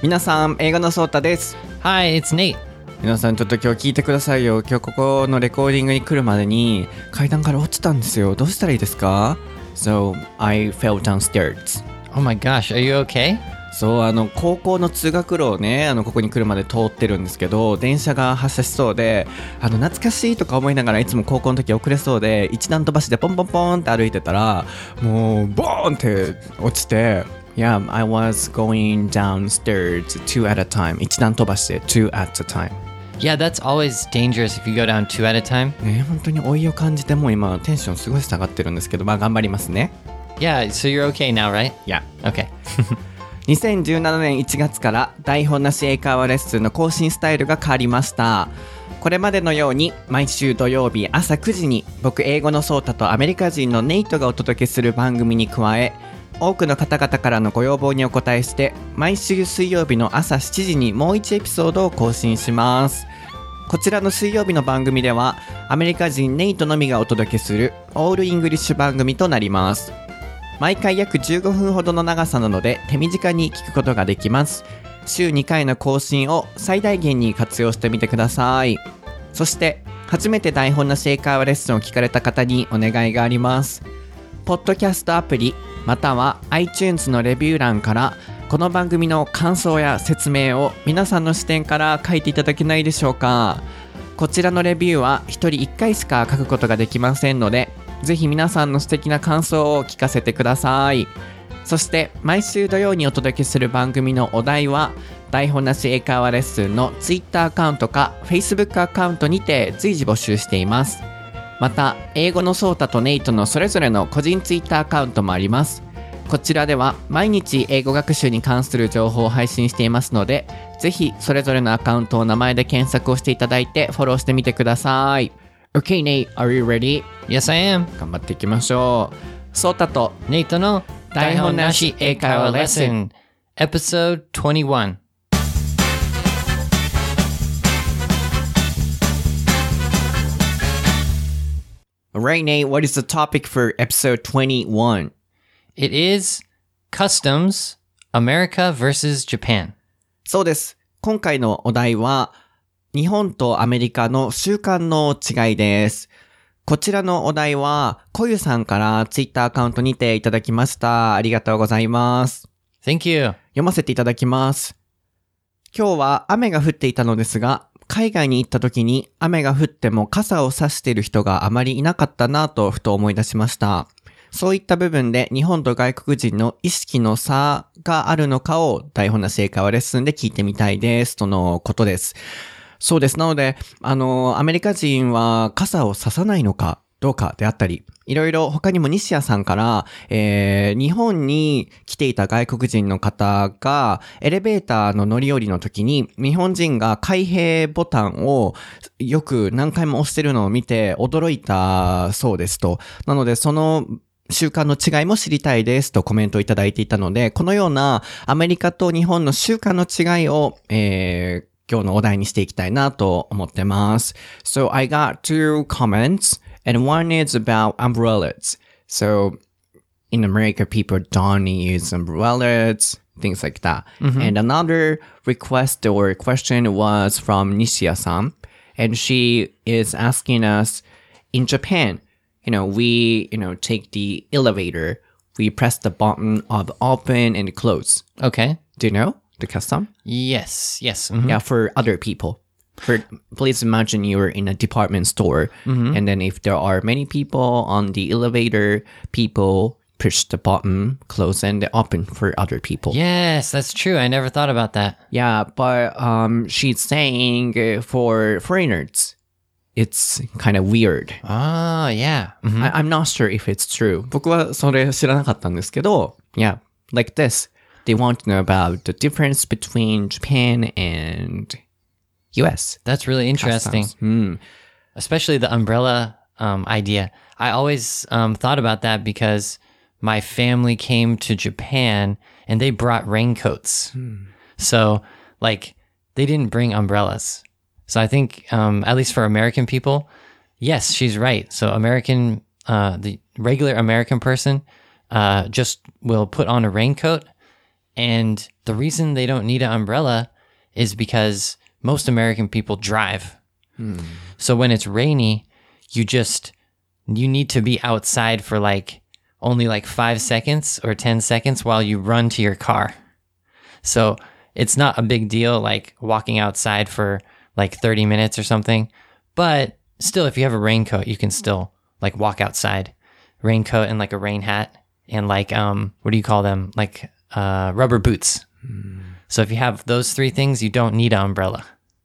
皆さん、英語のソータです。 Hi, it's Nate. 皆さんちょっと今日聞いてくださいよ。今日ここのレコーディングに来るまでに階段から落ちたんですよ。どうしたらいいですか？ So, I fell downstairs. Oh my gosh, are you okay? そう、高校の通学路をね、ここに来るまで通ってるんですけど、電車が発車しそうで、懐かしいとか思いながらいつも高校の時遅れそうで、一段飛ばしでポンポンポンって歩いてたら、もうボーンって落ちて、Yeah, I was going downstairs two at a time. 一段飛ばしてtwo at a time. Yeah, that's always dangerous if you go down two at a time. ね、本当に老いを感じてもう今テンションすごい下がってるんですけど、まあ頑張りますね。 Yeah, so you're okay now, right? Yeah. Okay. 2017年1月から台本なし英会話レッスンの更新スタイルが変わりました。これまでのように毎週土曜日朝9時に僕英語のソータとアメリカ人のネイトがお届けする番組に加え、多くの方々からのご要望にお答えして毎週水曜日の朝7時にもう1エピソードを更新します。こちらの水曜日の番組ではアメリカ人ネイトのみがお届けするオールイングリッシュ番組となります。毎回約15分ほどの長さなので手短に聞くことができます。週2回の更新を最大限に活用してみてください。そして初めて台本なし英会話レッスンを聞かれた方にお願いがあります。ポッドキャストアプリまたは iTunes のレビュー欄からこの番組の感想や説明を皆さんの視点から書いていただけないでしょうか。こちらのレビューは1人1回しか書くことができませんので、ぜひ皆さんの素敵な感想を聞かせてください。そして毎週土曜にお届けする番組のお題は台本なし英会話レッスンの Twitter アカウントか Facebook アカウントにて随時募集しています。また英語のソータとネイトのそれぞれの個人 Twitter アカウントもあります。こちらでは毎日英語学習に関する情報を配信していますので、ぜひそれぞれのアカウントを名前で検索をしていただいてフォローしてみてください。Okay, Nate, are you ready? Yes, I am. 頑張っていきましょう。ソータと Nate の台本なし英会話レッスン Episode 21. Alright, Nate, what is the topic for episode 21? It is Customs, America versus Japan. そうです。今回のお題は日本とアメリカの習慣の違いです。こちらのお題はこゆさんからツイッターアカウントにていただきました。ありがとうございます。 Thank you. 読ませていただきます。今日は雨が降っていたのですが、海外に行った時に雨が降っても傘を差している人があまりいなかったなとふと思い出しました。そういった部分で日本と外国人の意識の差があるのかを台本なし英会話レッスンで聞いてみたいですとのことです。そうです。なので、アメリカ人は傘を差さないのかどうかであったり、いろいろ他にも西谷さんから、日本に来ていた外国人の方がエレベーターの乗り降りの時に日本人が開閉ボタンをよく何回も押してるのを見て驚いたそうですと。なのでその習慣の違いも知りたいですとコメントをいただいていたので、このようなアメリカと日本の習慣の違いを、今日のお題にしていきたいなと思ってます。So I got two comments and one is about umbrellas. So in America people don't use umbrellas, things like that. And another request or question was from Nishiya-san, and she is asking us, in Japan, we, take the elevator, we press the button of open and close. Okay. Do you know the custom? Yes. Yeah, for other people. Please imagine you're in a department store, and then if there are many people on the elevator, people push the button, close and open for other people. Yes, that's true. I never thought about that. Yeah, but she's saying for foreigners, it's kind of weird. Oh, yeah. I'm not sure if it's true. 僕はそれ知らなかったんですけど、yeah, like this. They want to know about the difference between Japan and US. That's really interesting. Especially the umbrella idea. I always thought about that because my family came to Japan and they brought raincoats. So, they didn't bring umbrellas. So I think, at least for American people, yes, she's right. So the regular American person just will put on a raincoat And the reason they don't need an umbrella is because most American people drive. So when it's rainy, you need to be outside for only 5 seconds or 10 seconds while you run to your car. So it's not a big deal walking outside for 30 minutes or something. But still, if you have a raincoat, you can still walk outside. Raincoat and a rain hat and what do you call them? Rubber boots. So if you have those three things, you don't need an umbrella.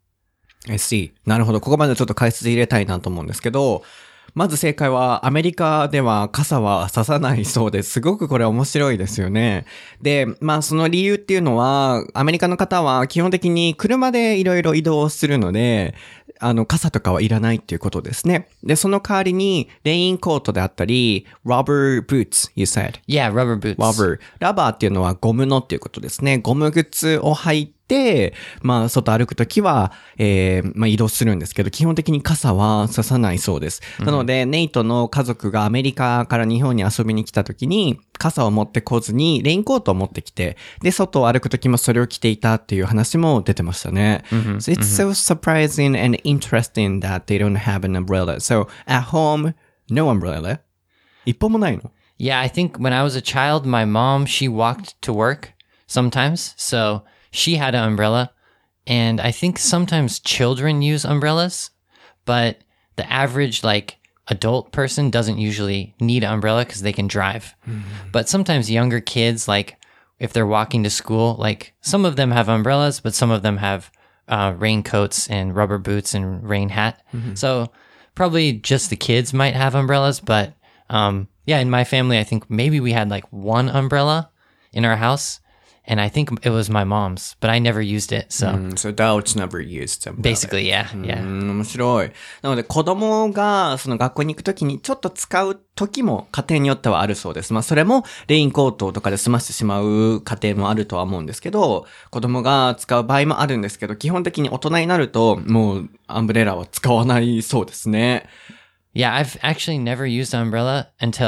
I see. なるほど。ここまでちょっと解説入れたいなと思うんですけど、まず正解はアメリカでは傘は差さないそうです。すごくこれ面白いですよね。で、その理由っていうのは、アメリカの方は基本的に車でいろいろ移動するので、傘とかはいらないっていうことですね。で、その代わりに、レインコートであったり、rubber boots, you said. Yeah, rubber boots. Rubber. ラバーっていうのはゴムのっていうことですね。ゴム靴を履いて、外歩くときは、移動するんですけど、基本的に傘は差さないそうです。なので、ネイトの家族がアメリカから日本に遊びに来たときに、傘を持ってこずに、レインコートを持ってきて、で、外を歩くときもそれを着ていたっていう話も出てましたね。So it's so surprising and interesting that they don't have an umbrella. So, at home, no umbrella? 一本もないの？ Yeah, I think when I was a child, my mom, she walked to work sometimes. So she had an umbrella. And I think sometimes children use umbrellas, but the average adult person doesn't usually need an umbrella because they can drive. But sometimes younger kids, if they're walking to school, some of them have umbrellas, but some of them have raincoats and rubber boots and rain hat. So probably just the kids might have umbrellas, but yeah, in my family, I think maybe we had one umbrella in our house, and I think it was my mom's, but I never used it. So, So adults never used umbrella. basically, yeah, yeah. 面白い。なので子供がその学校に行くときにちょっと使う時も家庭によってはあるそうです。それもレインコートとかで済ましてしまう家庭もあるとは思うんですけど、子供が使う場合もあるんですけど、基本的に大人になるともうアンブレラは使わないそうですね。 Yeah, I've actually never used an umbrella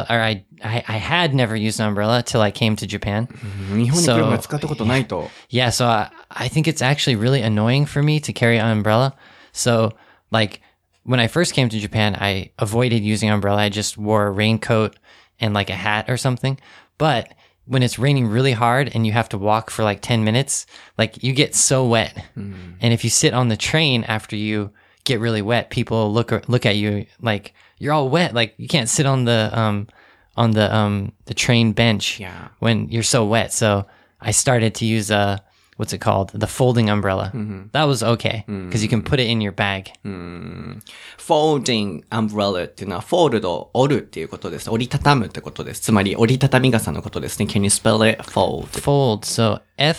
I had never used an umbrella till I came to Japan. 日本に来るまで使ったことないと。 Yeah, so I think it's actually really annoying for me to carry an umbrella. So, when I first came to Japan, I avoided using an umbrella. I just wore a raincoat and a hat or something. But when it's raining really hard and you have to walk for 10 minutes, you get so wet. And if you sit on the train after you get really wet, people look at you you're all wet. You can't sit on the train bench when you're so wet. So I started to use what's it called? The folding umbrella. That was okay because you can put it in your bag. Folding umbrella っていうのはフォールド、折るっていうことです。折りたたむってことです。つまり折りたたみ傘のことですね。Can you spell it? Fold. Fold. So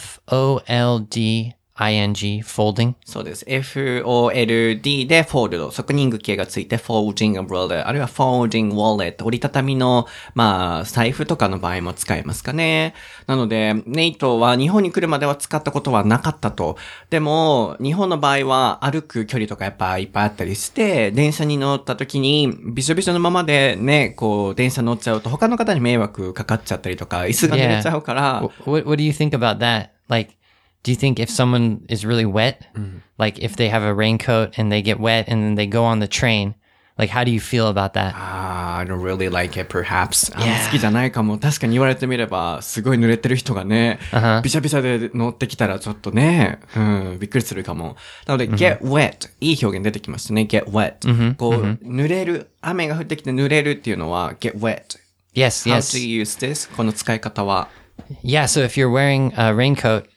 F-O-L-D ing, folding. そうです。F-O-L-D で fold 側任具形がついて folding umbrella あるいは folding wallet 折りたたみの財布とかの場合も使えますかね。なのでネイトは日本に来るまでは使ったことはなかったと。でも日本の場合は歩く距離とかやっぱいっぱいあったりして電車に乗った時にびしょびしょのままでね電車乗っちゃうと他の方に迷惑かかっちゃったりとか椅子が濡れちゃうから。 What do you think about that? Do you think if someone is really wet, if they have a raincoat and they get wet and then they go on the train, how do you feel about that? I don't really like it, perhaps. 好きじゃないかも。確かに言われてみれば、すごい濡れてる人がね、びしゃびしゃで乗ってきたらちょっとね、びっくりするかも。なので、get wet。いい表現出てきましたね、get wet。濡れる。雨が降ってきて濡れるっていうのは、get wet. Yes, How yes. do you use this? この使い方は。 Yeah, so if you're wearing a raincoat,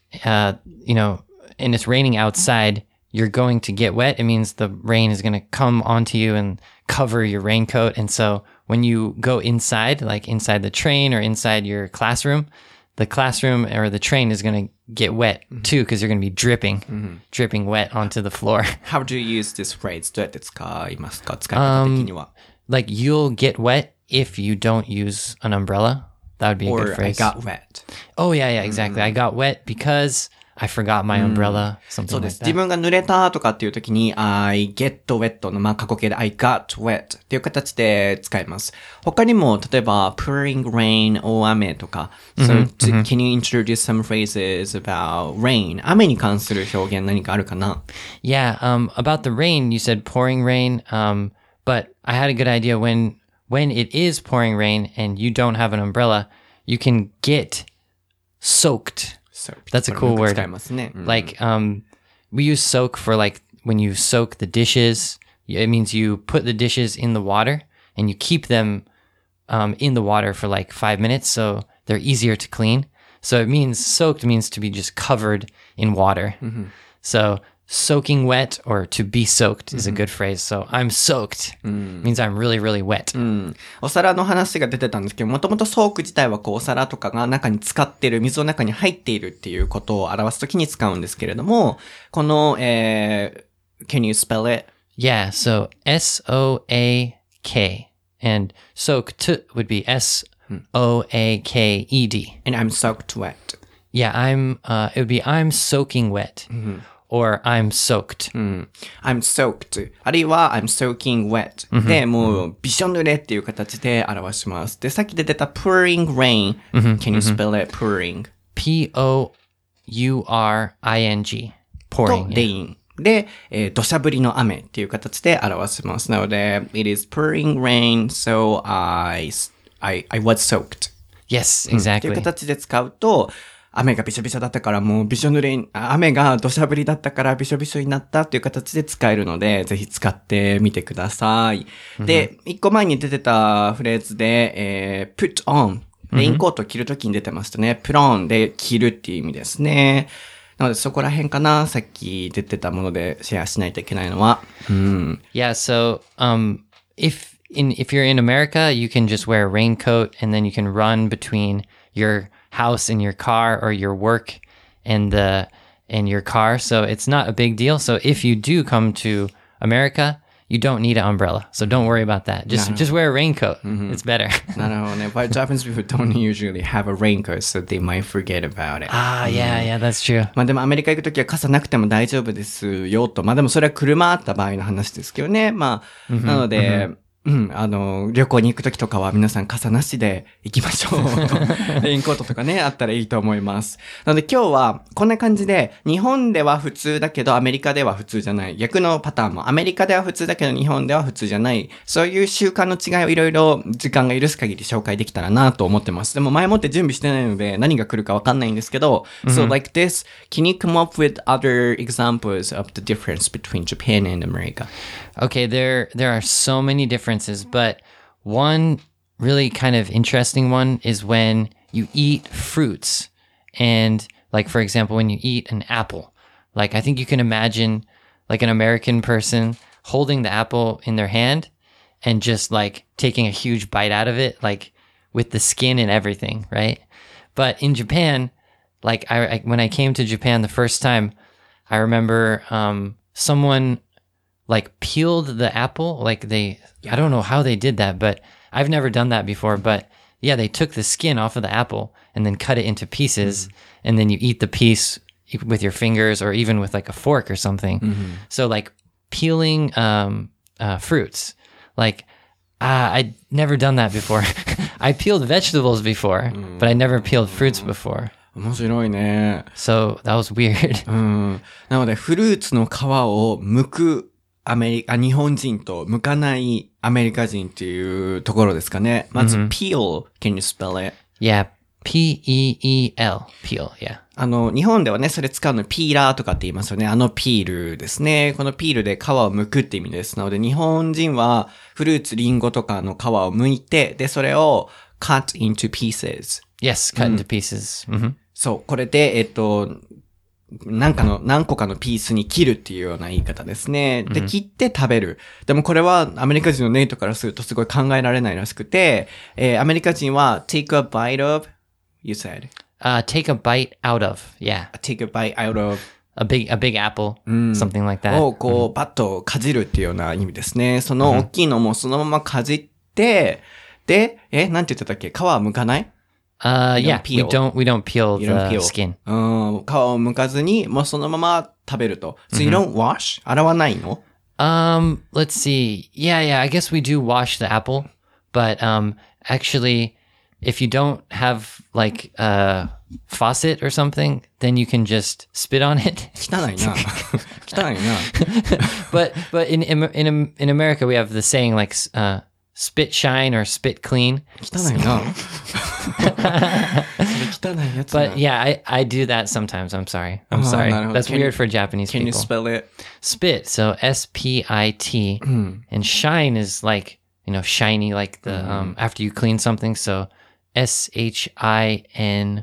and it's raining outside, you're going to get wet. It means the rain is going to come onto you and cover your raincoat. And so when you go inside, inside the train or inside your classroom, the classroom or the train is going to get wet too, because you're going to be dripping wet onto the floor. How do you use this phrase? どうやって使いますか？使い方的には。 You'll get wet if you don't use an umbrella. That would be a good phrase. Or I got wet. Oh, yeah, exactly. I got wet because I forgot my umbrella, そう something で like す。自 that. 分が濡れたとかっていう時に I get wet の過去形で I got wet っていう形で使います。他にも例えば pouring rain 大雨とか、So can you introduce some phrases about rain? 雨に関する表現何かあるかな？ Yeah, about the rain, you said pouring rain, but I had a good idea when it is pouring rain and you don't have an umbrella, you can get soaked. So, That's a これ cool もよく word. 使いますね。 Like, we use soak for like when you soak the dishes. It means you put the dishes in the water and you keep them in the water for like 5 minutes, so they're easier to clean. So it means soaked means to be just covered in water. So soaking wet or to be soaked is a good phrase. So I'm soaked means I'm really, really wet. お皿の話が出てたんですけど、もともとソーク自体はこうお皿とかが中に浸かってる、水の中に入っているっていうことを表すときに使うんですけれども、この、can you spell it? Yeah, so S-O-A-K. And soaked would be S-O-A-K-E-D. And I'm soaked wet. Yeah, it would be I'm soaking wet. Or I'm soaked. I'm soaked. あるいは I'm soaking wet. で、もうびしょ濡れっていう形で表します。で、さっき出てた pouring rain. Can you spell it? pouring. P-O-U-R-I-N-G. と Pouring. rain. で、土砂降りの雨っていう形で表します。なので、it is pouring rain, so I was soaked. Yes, っていう exactly. 形で使うと、雨がびしょびしょだったからもうびしょ濡れに、雨が土砂降りだったからびしょびしょになったっていう形で使えるので、ぜひ使ってみてください。で、一個前に出てたフレーズで、put on。レインコートを着るときに出てましたね。put on で着るっていう意味ですね。なのでそこら辺かな。さっき出てたものでシェアしないといけないのは。 Yeah, so if you're in America, you can just wear a raincoat and then you can run between your house and your car or your work and your car. So it's not a big deal. So if you do come to America, you don't need an umbrella. So don't worry about that. Just wear a raincoat. It's better. なるほどね。But Japanese people don't usually have a raincoat, so they might forget about it. Yeah, that's true. まあでもアメリカ行くときは傘なくても大丈夫ですよと。まあでもそれは車あった場合の話ですけどね。まあ、なので、旅行に行くときとかは皆さん傘なしで行きましょう。レインコートとかね、あったらいいと思います。なので今日はこんな感じで、日本では普通だけどアメリカでは普通じゃない。逆のパターンもアメリカでは普通だけど日本では普通じゃない。そういう習慣の違いをいろいろ時間が許す限り紹介できたらなと思ってます。でも前もって準備してないので何が来るかわかんないんですけど、So like this, can you come up with other examples of the difference between Japan and America? Okay, there are so many differences, but one really kind of interesting one is when you eat fruits. And like, for example, when you eat an apple, like I think you can imagine like an American person holding the apple in their hand and just like taking a huge bite out of it, like with the skin and everything, right? But in Japan, like when I came to Japan the first time, I remember someone like peeled the apple, like I don't know how they did that, but I've never done that before. But yeah, they took the skin off of the apple and then cut it into pieces, and then you eat the piece with your fingers or even with like a fork or something. So like peeling fruits, like I'd never done that before. I peeled vegetables before, but I never peeled fruits before. 面白いね。 So that was weird. なのでフルーツの皮を剥く日本人と剥かないアメリカ人っていうところですかね。まず、peel. Can you spell it? Yeah, P-E-E-L. Peel, yeah. 日本ではね、それ使うのピーラーとかって言いますよね。ピールですね。このピールで皮を剥くって意味です。なので、日本人はフルーツ、リンゴとかの皮を剥いて、で、それを cut into pieces. Yes, cut into pieces. そう、これで、何個かのピースに切るっていうような言い方ですね。で、切って食べる。でもこれはアメリカ人のネイトからするとすごい考えられないらしくて、アメリカ人は take a bite of, you said? Take a bite out of, yeah. Take a bite out of. A big apple, something like that. をこう、バッとかじるっていうような意味ですね。その大きいのもそのままかじって、で、なんて言ってたっけ？皮は剥かない Yeah, peel. we don't peel You don't the peel. skin. 皮を剥かずに、もうそのまま食べると。So you don't wash? 洗わないの？ Let's see. Yeah, I guess we do wash the apple, but actually, if you don't have like a faucet or something, then you can just spit on it. 汚いな。汚いな。 but in America, we have the saying like spit shine or spit clean. 汚いな。それ汚いやつな。 But yeah, I do that sometimes. I'm sorry. I'm あー sorry. なるほど。 That's weird for Japanese Can you people. spell it? Spit, so SPIT, and shine is like, shiny, like the after you clean something. So SHINY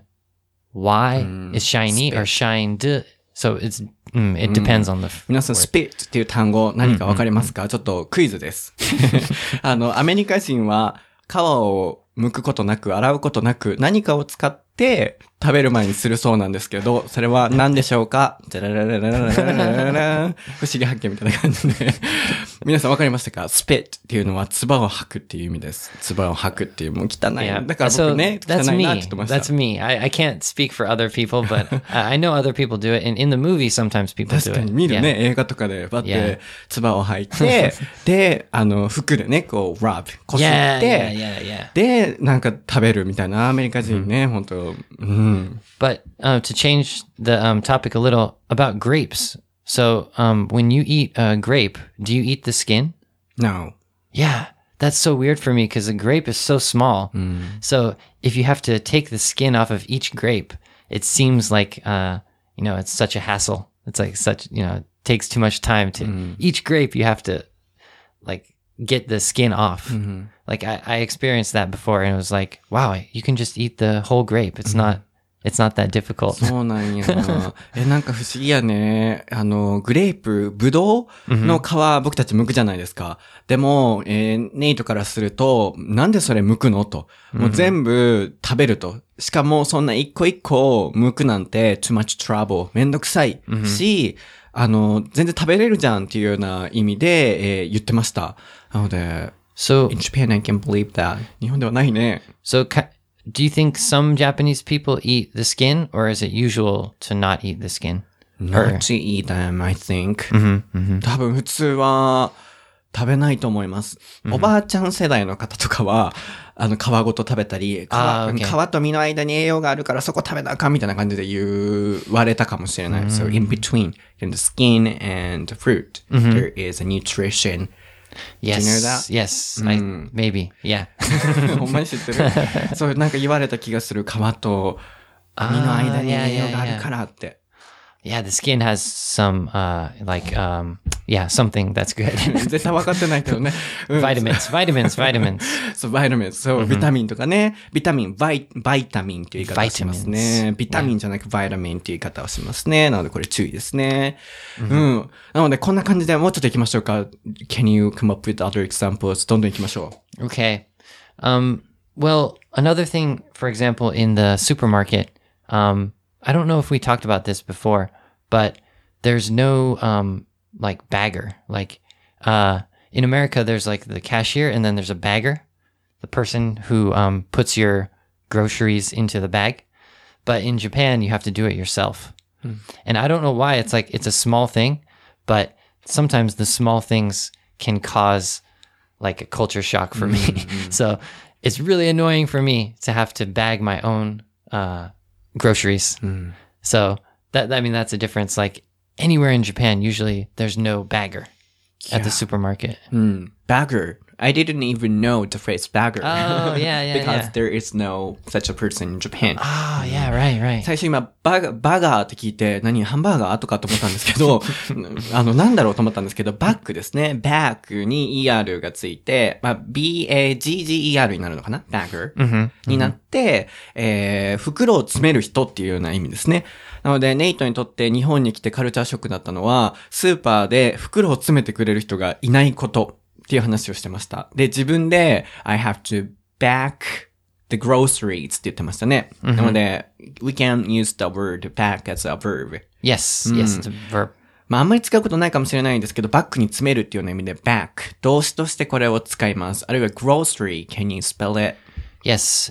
is shiny or shined. So it depends on the 皆さん、spit っていう単語何かわかりますか？ちょっとクイズです。アメリカ人は皮を剥くことなく、洗うことなく、何かを使って食べる前にするそうなんですけど、それは何でしょうか？じゃららららららららら不思議発見みたいな感じで。皆さんわかりましたか？ spit っていうのは唾を吐くっていう意味です。唾を吐くっていう、もう汚い。 Yeah. だから僕ね、汚 that's い me. なって言ってました。 That's me. I can't speak for other people, but I know other people do it. And in the movie, sometimes people do 確か it. に見るね、 Yeah. 映画とかで、バッて Yeah. 唾を吐いて、で、服でね、こう、rub、こすっ Yeah, て、 yeah. で、なんか食べるみたいなアメリカ人ね、本当うん。 But to change the topic a little about grapes. So when you eat a grape, do you eat the skin? No. Yeah, that's so weird for me because a grape is so small. So if you have to take the skin off of each grape, it seems like, it's such a hassle. It's like it takes too much time to each grape. You have to like get the skin off. Like I experienced that before and it was like, wow, you can just eat the whole grape. It's not that difficult. そうなんや。なんか不思議やね。グレープ、ブドウの皮、僕たち剥くじゃないですか。でも、ネイトからすると、なんでそれ剥くのと。もう全部食べると。しかも、そんな一個一個剥くなんて、too much trouble。めんどくさい。し、全然食べれるじゃんっていうような意味で、言ってました。なので、 So, in Japan I can believe that. 日本ではないね。 do you think some Japanese people eat the skin or is it usual to not eat the skin? Not to eat them, I think. 多分普通は食べないと思います。おばあちゃん世代の方とかは、皮ごと食べたり、 okay. 皮と身の間に栄養があるからそこ食べなあかんみたいな感じで言われたかもしれない。So in between, in the skin and the fruit, there is a nutrition. Yes. Do you know that? Yes. Maybe. Yeah. ほんまに知ってる？そうなんか言われた気がする。皮と身の間に栄養があるからって。 Yeah, the skin has some, something that's good. 絶対分かってないけどね。 vitamins. そう、バイタミン。そう、ビタミンとかね。ビタミン、バイタミンっていう言い方をしますね。ビタミンじゃなくバイタミンっていう言い方をしますね。なのでこれ注意ですね。なのでこんな感じでもうちょっと行きましょうか。Can you come up with other examples? どんどん行きましょう。 Okay. Well, another thing, for example, in the supermarket, I don't know if we talked about this before, but there's no, bagger. In America, there's like the cashier and then there's a bagger, the person who, puts your groceries into the bag. But in Japan, you have to do it yourself. And I don't know why. It's like, it's a small thing, but sometimes the small things can cause like a culture shock for me. So it's really annoying for me to have to bag my own, groceries. So that's a difference. Like anywhere in Japan, usually there's no bagger at the supermarket. Bagger. I didn't even know the phrase bagger. Oh, yeah. Because there is no such a person in Japan. Oh, yeah, right. 最初今、バガーって聞いて、ハンバーガーとかと思ったんですけど、なんだろうと思ったんですけど、バッグですね。バッグに ER がついて、BAGGER になるのかな？バッグになって、袋を詰める人っていうような意味ですね。なので、ネイトにとって日本に来てカルチャーショックだったのは、スーパーで袋を詰めてくれる人がいないことっていう話をしてました。で、自分で、I have to bag the groceries って言ってましたね。なので、we can use the word bag as a verb. Yes, it's a verb. あんまり使うことないかもしれないんですけど、バッグに詰めるっていうような意味で bag 動詞としてこれを使います。あるいは grocery, can you spell it? Yes.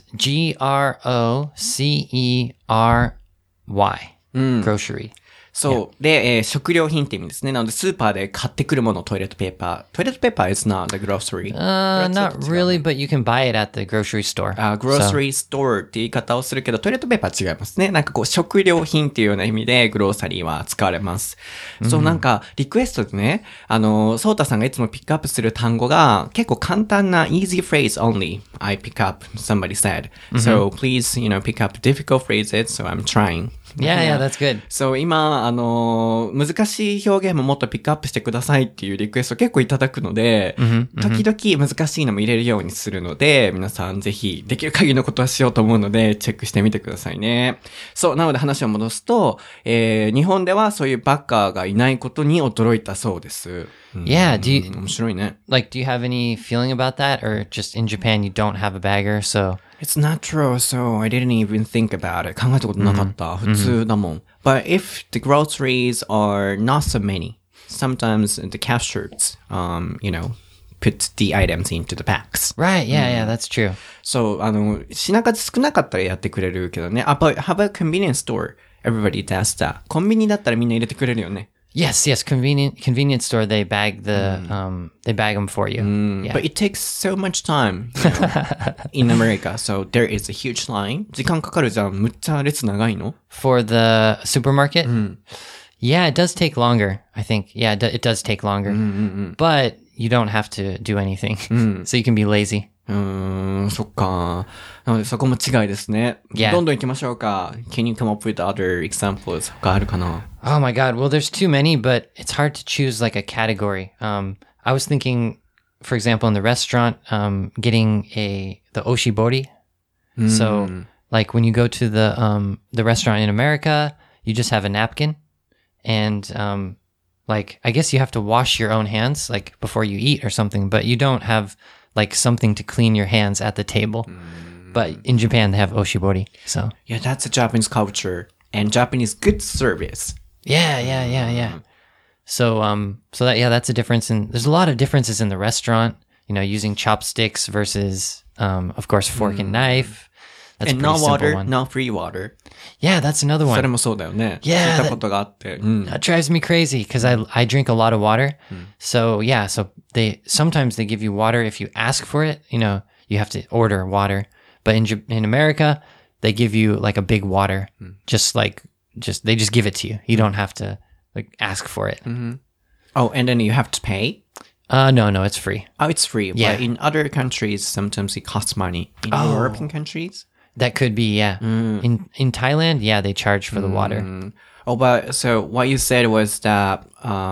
Grocery. Grocery. そう。で、食料品って意味ですね。なので、スーパーで買ってくるもの、トイレットペーパー。トイレットペーパー is not the grocery. Not really, but you can buy it at the grocery store. grocery store って言い方をするけど、トイレットペーパー違いますね。なんかこう、食料品っていうような意味で、グローサリーは使われます。そう、なんか、リクエストでね、ソータさんがいつもピックアップする単語が、結構簡単な easy phrase only. I pick up, somebody said. So, please, pick up difficult phrases, so I'm trying. Yeah, that's good. そう、今、難しい表現ももっとピックアップしてくださいっていうリクエスト結構いただくので、時々難しいのも入れるようにするので、皆さんぜひできる限りのことはしようと思うので、チェックしてみてくださいね。そう、なので話を戻すと、日本ではそういうバッカーがいないことに驚いたそうです。 Yeah, 面白いね。 do you have any feeling about that? Or just in Japan, you don't have a bagger, so... It's not true, so I didn't even think about it. 考えたことなかった。普通だもん。But if the groceries are not so many, sometimes the cashiers, put the items into the packs. Right, yeah, that's true. そう、品数少なかったらやってくれるけどね。But how about convenience store? Everybody does that. コンビニだったらみんな入れてくれるよね。 Yes, convenience store, they bag them for you. Yeah. But it takes so much time, in America. So there is a huge line. 時間かかるじゃん。むっちゃ列長いの For the supermarket? Yeah, it does take longer, I think. Yeah, it does take longer. But you don't have to do anything. So you can be lazy. そっか。なのでそこも違いですね。 Yeah. どんどん行きましょうか。Can you come up with other examples? 他あるかな Oh my God. Well, there's too many, but it's hard to choose like a category. I was thinking, for example, in the restaurant, getting the oshibori. So like when you go to the restaurant in America, you just have a napkin and, I guess you have to wash your own hands like before you eat or something, but you don't have like something to clean your hands at the table. But in Japan, they have oshibori. So Yeah, that's a Japanese culture and Japanese good service. Yeah. So that's a difference there's a lot of differences in the restaurant, using chopsticks versus, of course, fork and knife. That's And a pretty no simple water, one. no free water. Yeah, that's another それ one. もそうだよね。 Yeah, 聞いたことがあって。 That drives me crazy because I drink a lot of water. So yeah, so sometimes they give you water if you ask for it. You have to order water. But in America, they give you like a big water, they just give it to you. You don't have to like ask for it. Oh, and then you have to pay? No, it's free. Oh, it's free. Yeah. But in other countries, sometimes it costs money. In European countries? That could be, yeah. In Thailand, yeah, they charge for the water. Oh, but so what you said was that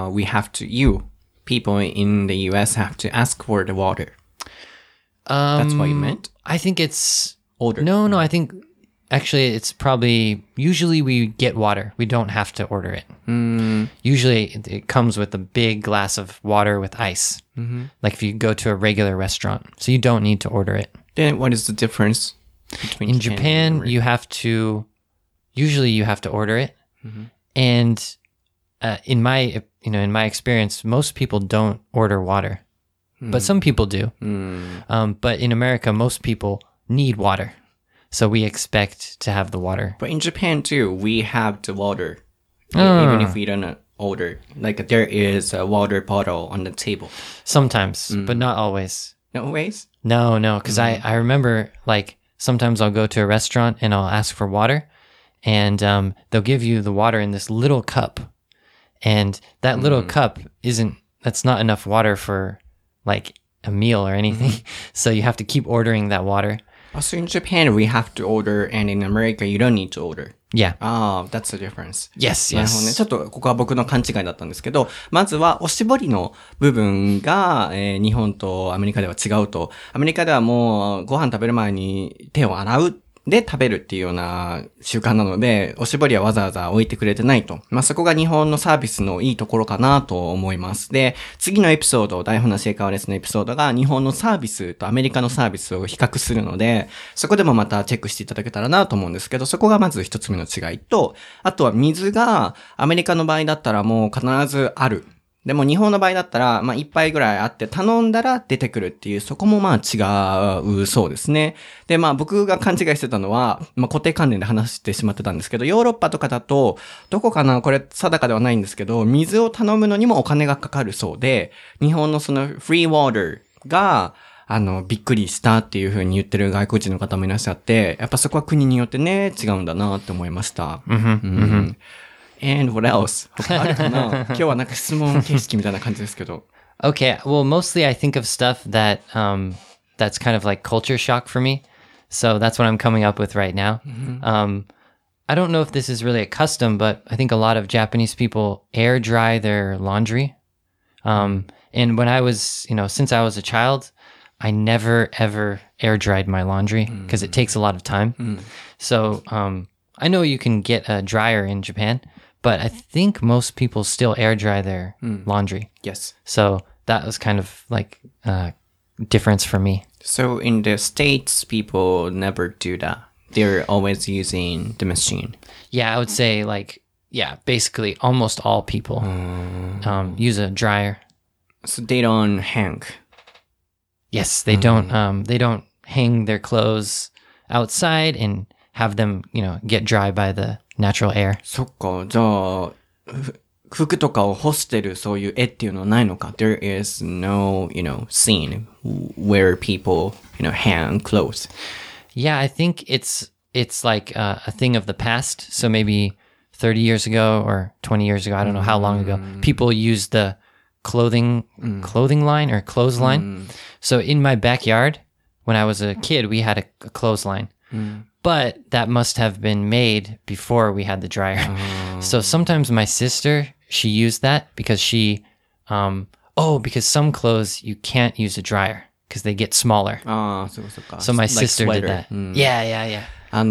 people in the US have to ask for the water. That's what you meant? I think it's... Order. No, I think... Actually, it's probably... Usually we get water. We don't have to order it. Usually it comes with a big glass of water with ice. Like if you go to a regular restaurant. So you don't need to order it. Then what is the difference between In Japan, and you have to... Usually you have to order it. And in my experience, most people don't order water. But some people do. But in America, most people need water. So we expect to have the water. But in Japan too, we have the water. Even if we don't order. Like there is a water bottle on the table. Sometimes, but not always. No ways? No, because I remember like sometimes I'll go to a restaurant and I'll ask for water and they'll give you the water in this little cup. And that little cup that's not enough water for like a meal or anything. So you have to keep ordering that water. So in Japan, we have to order, and in America, you don't need to order. Yeah. That's the difference. Yes, なるほどね。ちょっとここは僕の勘違いだったんですけど、まずはおしぼりの部分が、日本とアメリカでは違うと。アメリカではもうご飯食べる前に手を洗う。で食べるっていうような習慣なので、おしぼりはわざわざ置いてくれてないと。そこが日本のサービスのいいところかなと思います。で、次のエピソード、台本なし英会話レッスンのエピソードが日本のサービスとアメリカのサービスを比較するので、そこでもまたチェックしていただけたらなと思うんですけど、そこがまず一つ目の違いと、あとは水がアメリカの場合だったらもう必ずある。 でも日本の場合だったら、まあ、一杯ぐらいあって頼んだら出てくるっていう、そこもまあ違うそうですね。で、まあ僕が勘違いしてたのは、まあ固定関連で話してしまってたんですけど、ヨーロッパとかだと、どこかなこれ定かではないんですけど、水を頼むのにもお金がかかるそうで、日本のそのフリーウォーターが、びっくりしたっていう風に言ってる外国人の方もいらっしゃって、やっぱそこは国によってね、違うんだなって思いました。And what else? 他あるかな今日はなんか質問形式みたいな感じですけど。 Okay, well, mostly I think of stuff that that's kind of like culture shock for me. So that's what I'm coming up with right now. I don't know if this is really a custom, but I think a lot of Japanese people air dry their laundry. And when I was, since I was a child, I never ever air dried my laundry because it takes a lot of time. So I know you can get a dryer in Japan, but I think most people still air dry their laundry. Yes. So that was kind of like a difference for me. So in the States, people never do that. They're always using the machine. Yeah, I would say basically almost all people use a dryer. So they don't hang. Yes, they don't hang their clothes outside and have them, get dry by the natural air. そっか、じゃあ、服とかを干してるそういう絵っていうのはないのか There is no, scene where people, hang clothes. Yeah, I think it's like a thing of the past. So maybe 30 years ago or 20 years ago, I don't know how long ago, people used the clothing line or clothesline. So in my backyard, when I was a kid, we had a clothesline. But that must have been made before we had the dryer. So sometimes my sister, she used that because because some clothes you can't use a dryer because they get smaller. ああ、そうかそうか。 So my sister did that. Yeah.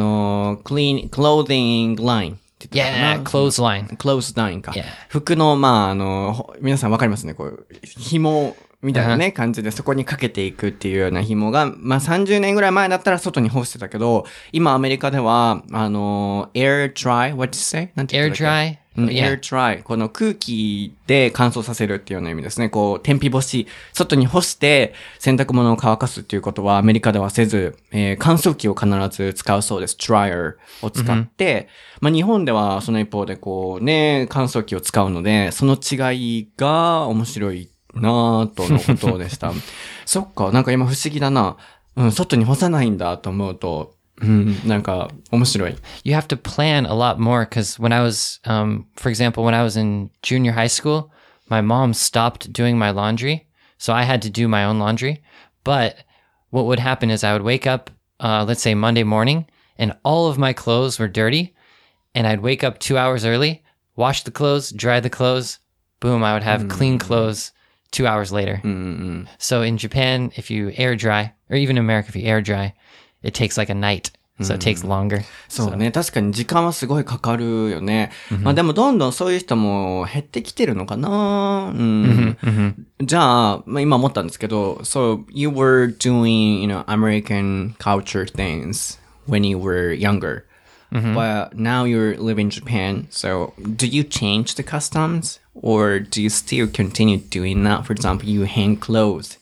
clothing line って言ったかな Yeah, clothesline. clothesline か。 Yeah. 服の、皆さんわかりますね。こう、紐みたいなね、感じでそこにかけていくっていうような紐が、30年ぐらい前だったら外に干してたけど、今アメリカでは、air dry, what did you say? なんて言 Air ったっけ dry? air dry. この空気で乾燥させるっていうような意味ですね。こう、天日干し、外に干して洗濯物を乾かすっていうことはアメリカではせず、乾燥機を必ず使うそうです。dryer を使って、日本ではその一方でこうね、乾燥機を使うので、その違いが面白いなぁとのことでした。そっか、なんか今不思議だな。外に干さないんだと思うと、なんか面白い。 You have to plan a lot more because when I was, for example, when I was in junior high school, my mom stopped doing my laundry. So I had to do my own laundry. But what would happen is I would wake up, let's say Monday morning, and all of my clothes were dirty. And I'd wake up 2 hours early, wash the clothes, dry the clothes. Boom, I would have clean clothes 2 hours later. So in Japan, if you air dry, or even in America, if you air dry, it takes like a night. So it takes longer. そうね。確かに時間はすごいかかるよね。でもどんどんそういう人も減ってきてるのかな。じゃあ、今思ったんですけど、So you were doing, American culture things when you were younger. But now you live in Japan. So do you change the customs? Or do you still continue doing that? For example, you hang clothes.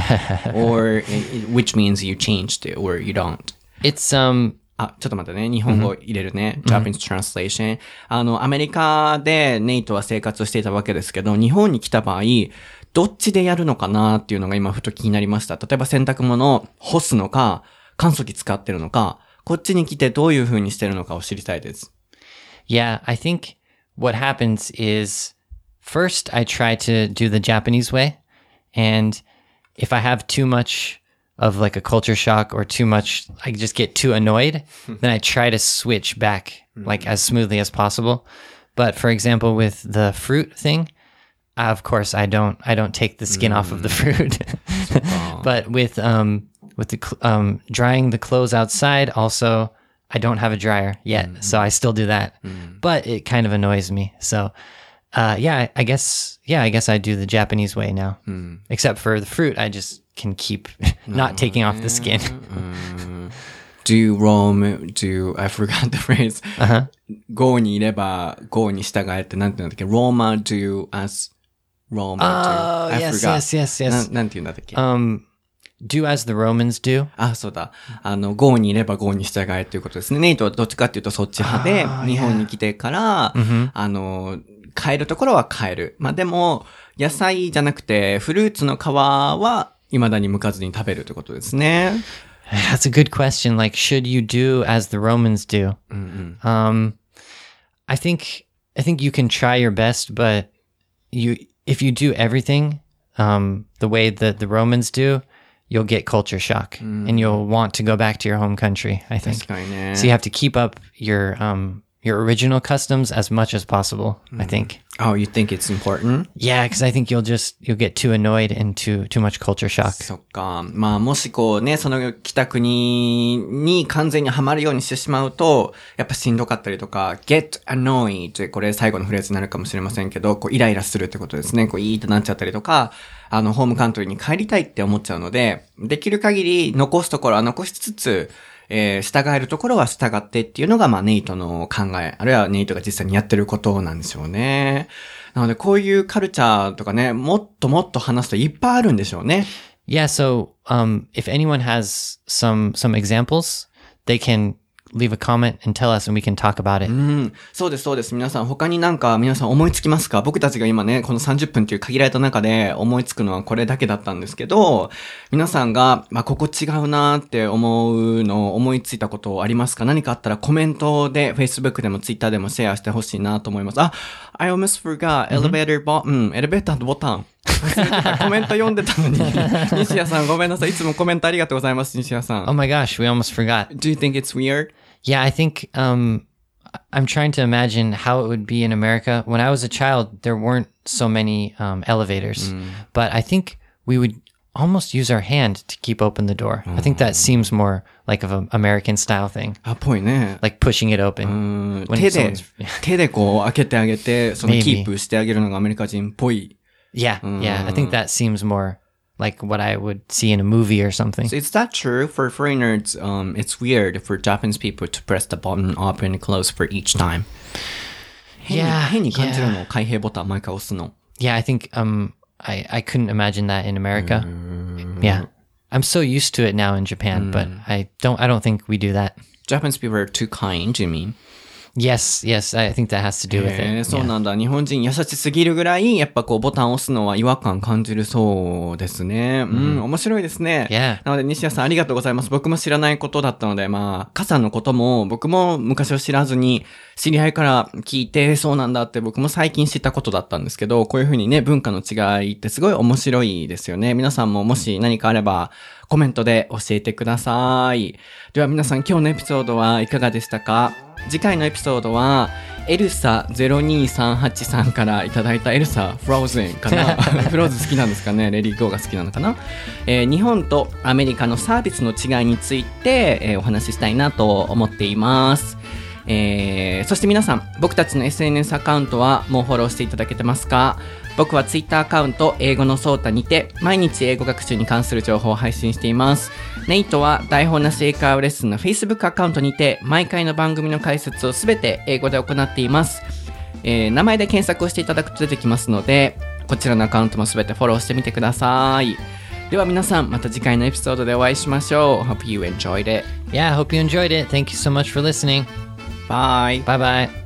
Or which means you changed it or you don't. It's, ちょっと待ってね。日本語入れるね。Japanese translation. アメリカでネイトは生活をしていたわけですけど、日本に来た場合、どっちでやるのかなっていうのが今ふと気になりました。例えば洗濯物を干すのか、乾燥機使ってるのか、こっちに来てどういう風にしてるのかを知りたいです。 Yeah, I think what happens is first I try to do the Japanese way. And if I have too much of like a culture shock or too much, I just get too annoyed, then I try to switch back like as smoothly as possible. But for example, with the fruit thing, of course I don't take the skin off of the fruit. But with the drying the clothes outside, also I don't have a dryer yet, so I still do that. But it kind of annoys me. So I guess I do the Japanese way now. Except for the fruit, I just can keep not taking off the skin. Do I forgot the phrase. Go にいれば Go に従えってなんて言うんだっけ Roma do as Roman Oh, I yes, forgot. yes, yes, yes. なんて言うんだったっけ、 Do as the Romans do. あ、そうだ。郷にいれば郷に従えっていうことですね。ネイトはどっちかっていうとそっち派で、日本に来てから、変えるところは変える。まあでも、野菜じゃなくて、フルーツの皮は未だに剥かずに食べるということですね。 That's a good question. Like, should you do as the Romans do? I think you can try your best, but if you do everything the way that the Romans do, you'll get culture shock and you'll want to go back to your home country, I think. 確かにね。 So you have to keep up your original customs as much as possible, I think. Oh, you think it's important? Yeah, because I think you'll get too annoyed and too much culture shock. そっか。まあ、もしこうね、その北国に完全にはまるようにしてしまうと、やっぱしんどかったりとか、get annoyed これ最後のフレーズになるかもしれませんけど、こうイライラするってことですね。こういいってなっちゃったりとか、ホームカントリーに帰りたいって思っちゃうので、できる限り残すところは残しつつ、従えるところは従ってっていうのが、まあ、ネイトの考え、あるいはネイトが実際にやってることなんでしょうね。なので、こういうカルチャーとかね、もっともっと話すといっぱいあるんでしょうね。 Yeah, so if anyone has some examples, they can leave a comment and tell us and we can talk about it. そうです、そうです。皆さん、他になんか皆さん思いつきますか？僕たちが今ね、この30分という限られた中で思いつくのはこれだけだったんですけど、皆さんが、まあ、ここ違うなーって思いついたことありますか？何かあったらコメントで Facebook でも Twitter でもシェアしてほしいなと思います。I almost forgot elevator button. エレベーターのボタン。コメント読んでたのに。西谷さんごめんなさい。いつもコメントありがとうございます、西谷さん。 Oh my gosh, we almost forgot. Do you think it's weird? Yeah, I think I'm trying to imagine how it would be in America. When I was a child, there weren't so many elevators, but I think we would almost use our hand to keep open the door. I think that seems more like of an American style thing. ぽいね。 Like pushing it open. 手でこう開けてあげて、そのキープしてあげるのがアメリカ人っぽい。 Yeah, yeah. I think that seems more like what I would see in a movie or something. So is that true for foreigners? It's weird for Japanese people to press the button open and close for each time. 変に感じるの、開閉ボタン毎回押すの。 Yeah, I think I couldn't imagine that in America. Yeah. I'm so used to it now in Japan, but I don't think we do that. Japanese people are too kind, you mean? Yes, I think that has to do with it. そうなんだ。日本人優しすぎるぐらい、やっぱこうボタンを押すのは違和感感じるそうですね。面白いですね。 Yeah. なので西谷さんありがとうございます。僕も知らないことだったので、まあ、傘のことも僕も昔は知らずに、知り合いから聞いてそうなんだって僕も最近知ったことだったんですけど、こういうふうにね、文化の違いってすごい面白いですよね。皆さんももし何かあれば、コメントで教えてください。では皆さん今日のエピソードはいかがでしたか？次回のエピソードはエルサ0238さんからいただいたエルサフローズンかなフローズ好きなんですかね？レディーゴーが好きなのかな？日本とアメリカのサービスの違いについて、お話ししたいなと思っています。そして皆さん僕たちの SNS アカウントはもうフォローしていただけてますか？僕は Twitter アカウント英語のソータにて毎日英語学習に関する情報を配信しています。ネイトは台本なし英会話レッスンの Facebook アカウントにて毎回の番組の解説をすべて英語で行っています。名前で検索をしていただくと出てきますのでこちらのアカウントもすべてフォローしてみてください。では皆さんまた次回のエピソードでお会いしましょう。Hope you enjoyed it. Yeah, I hope you enjoyed it. Thank you so much for listening. Bye. Bye-bye.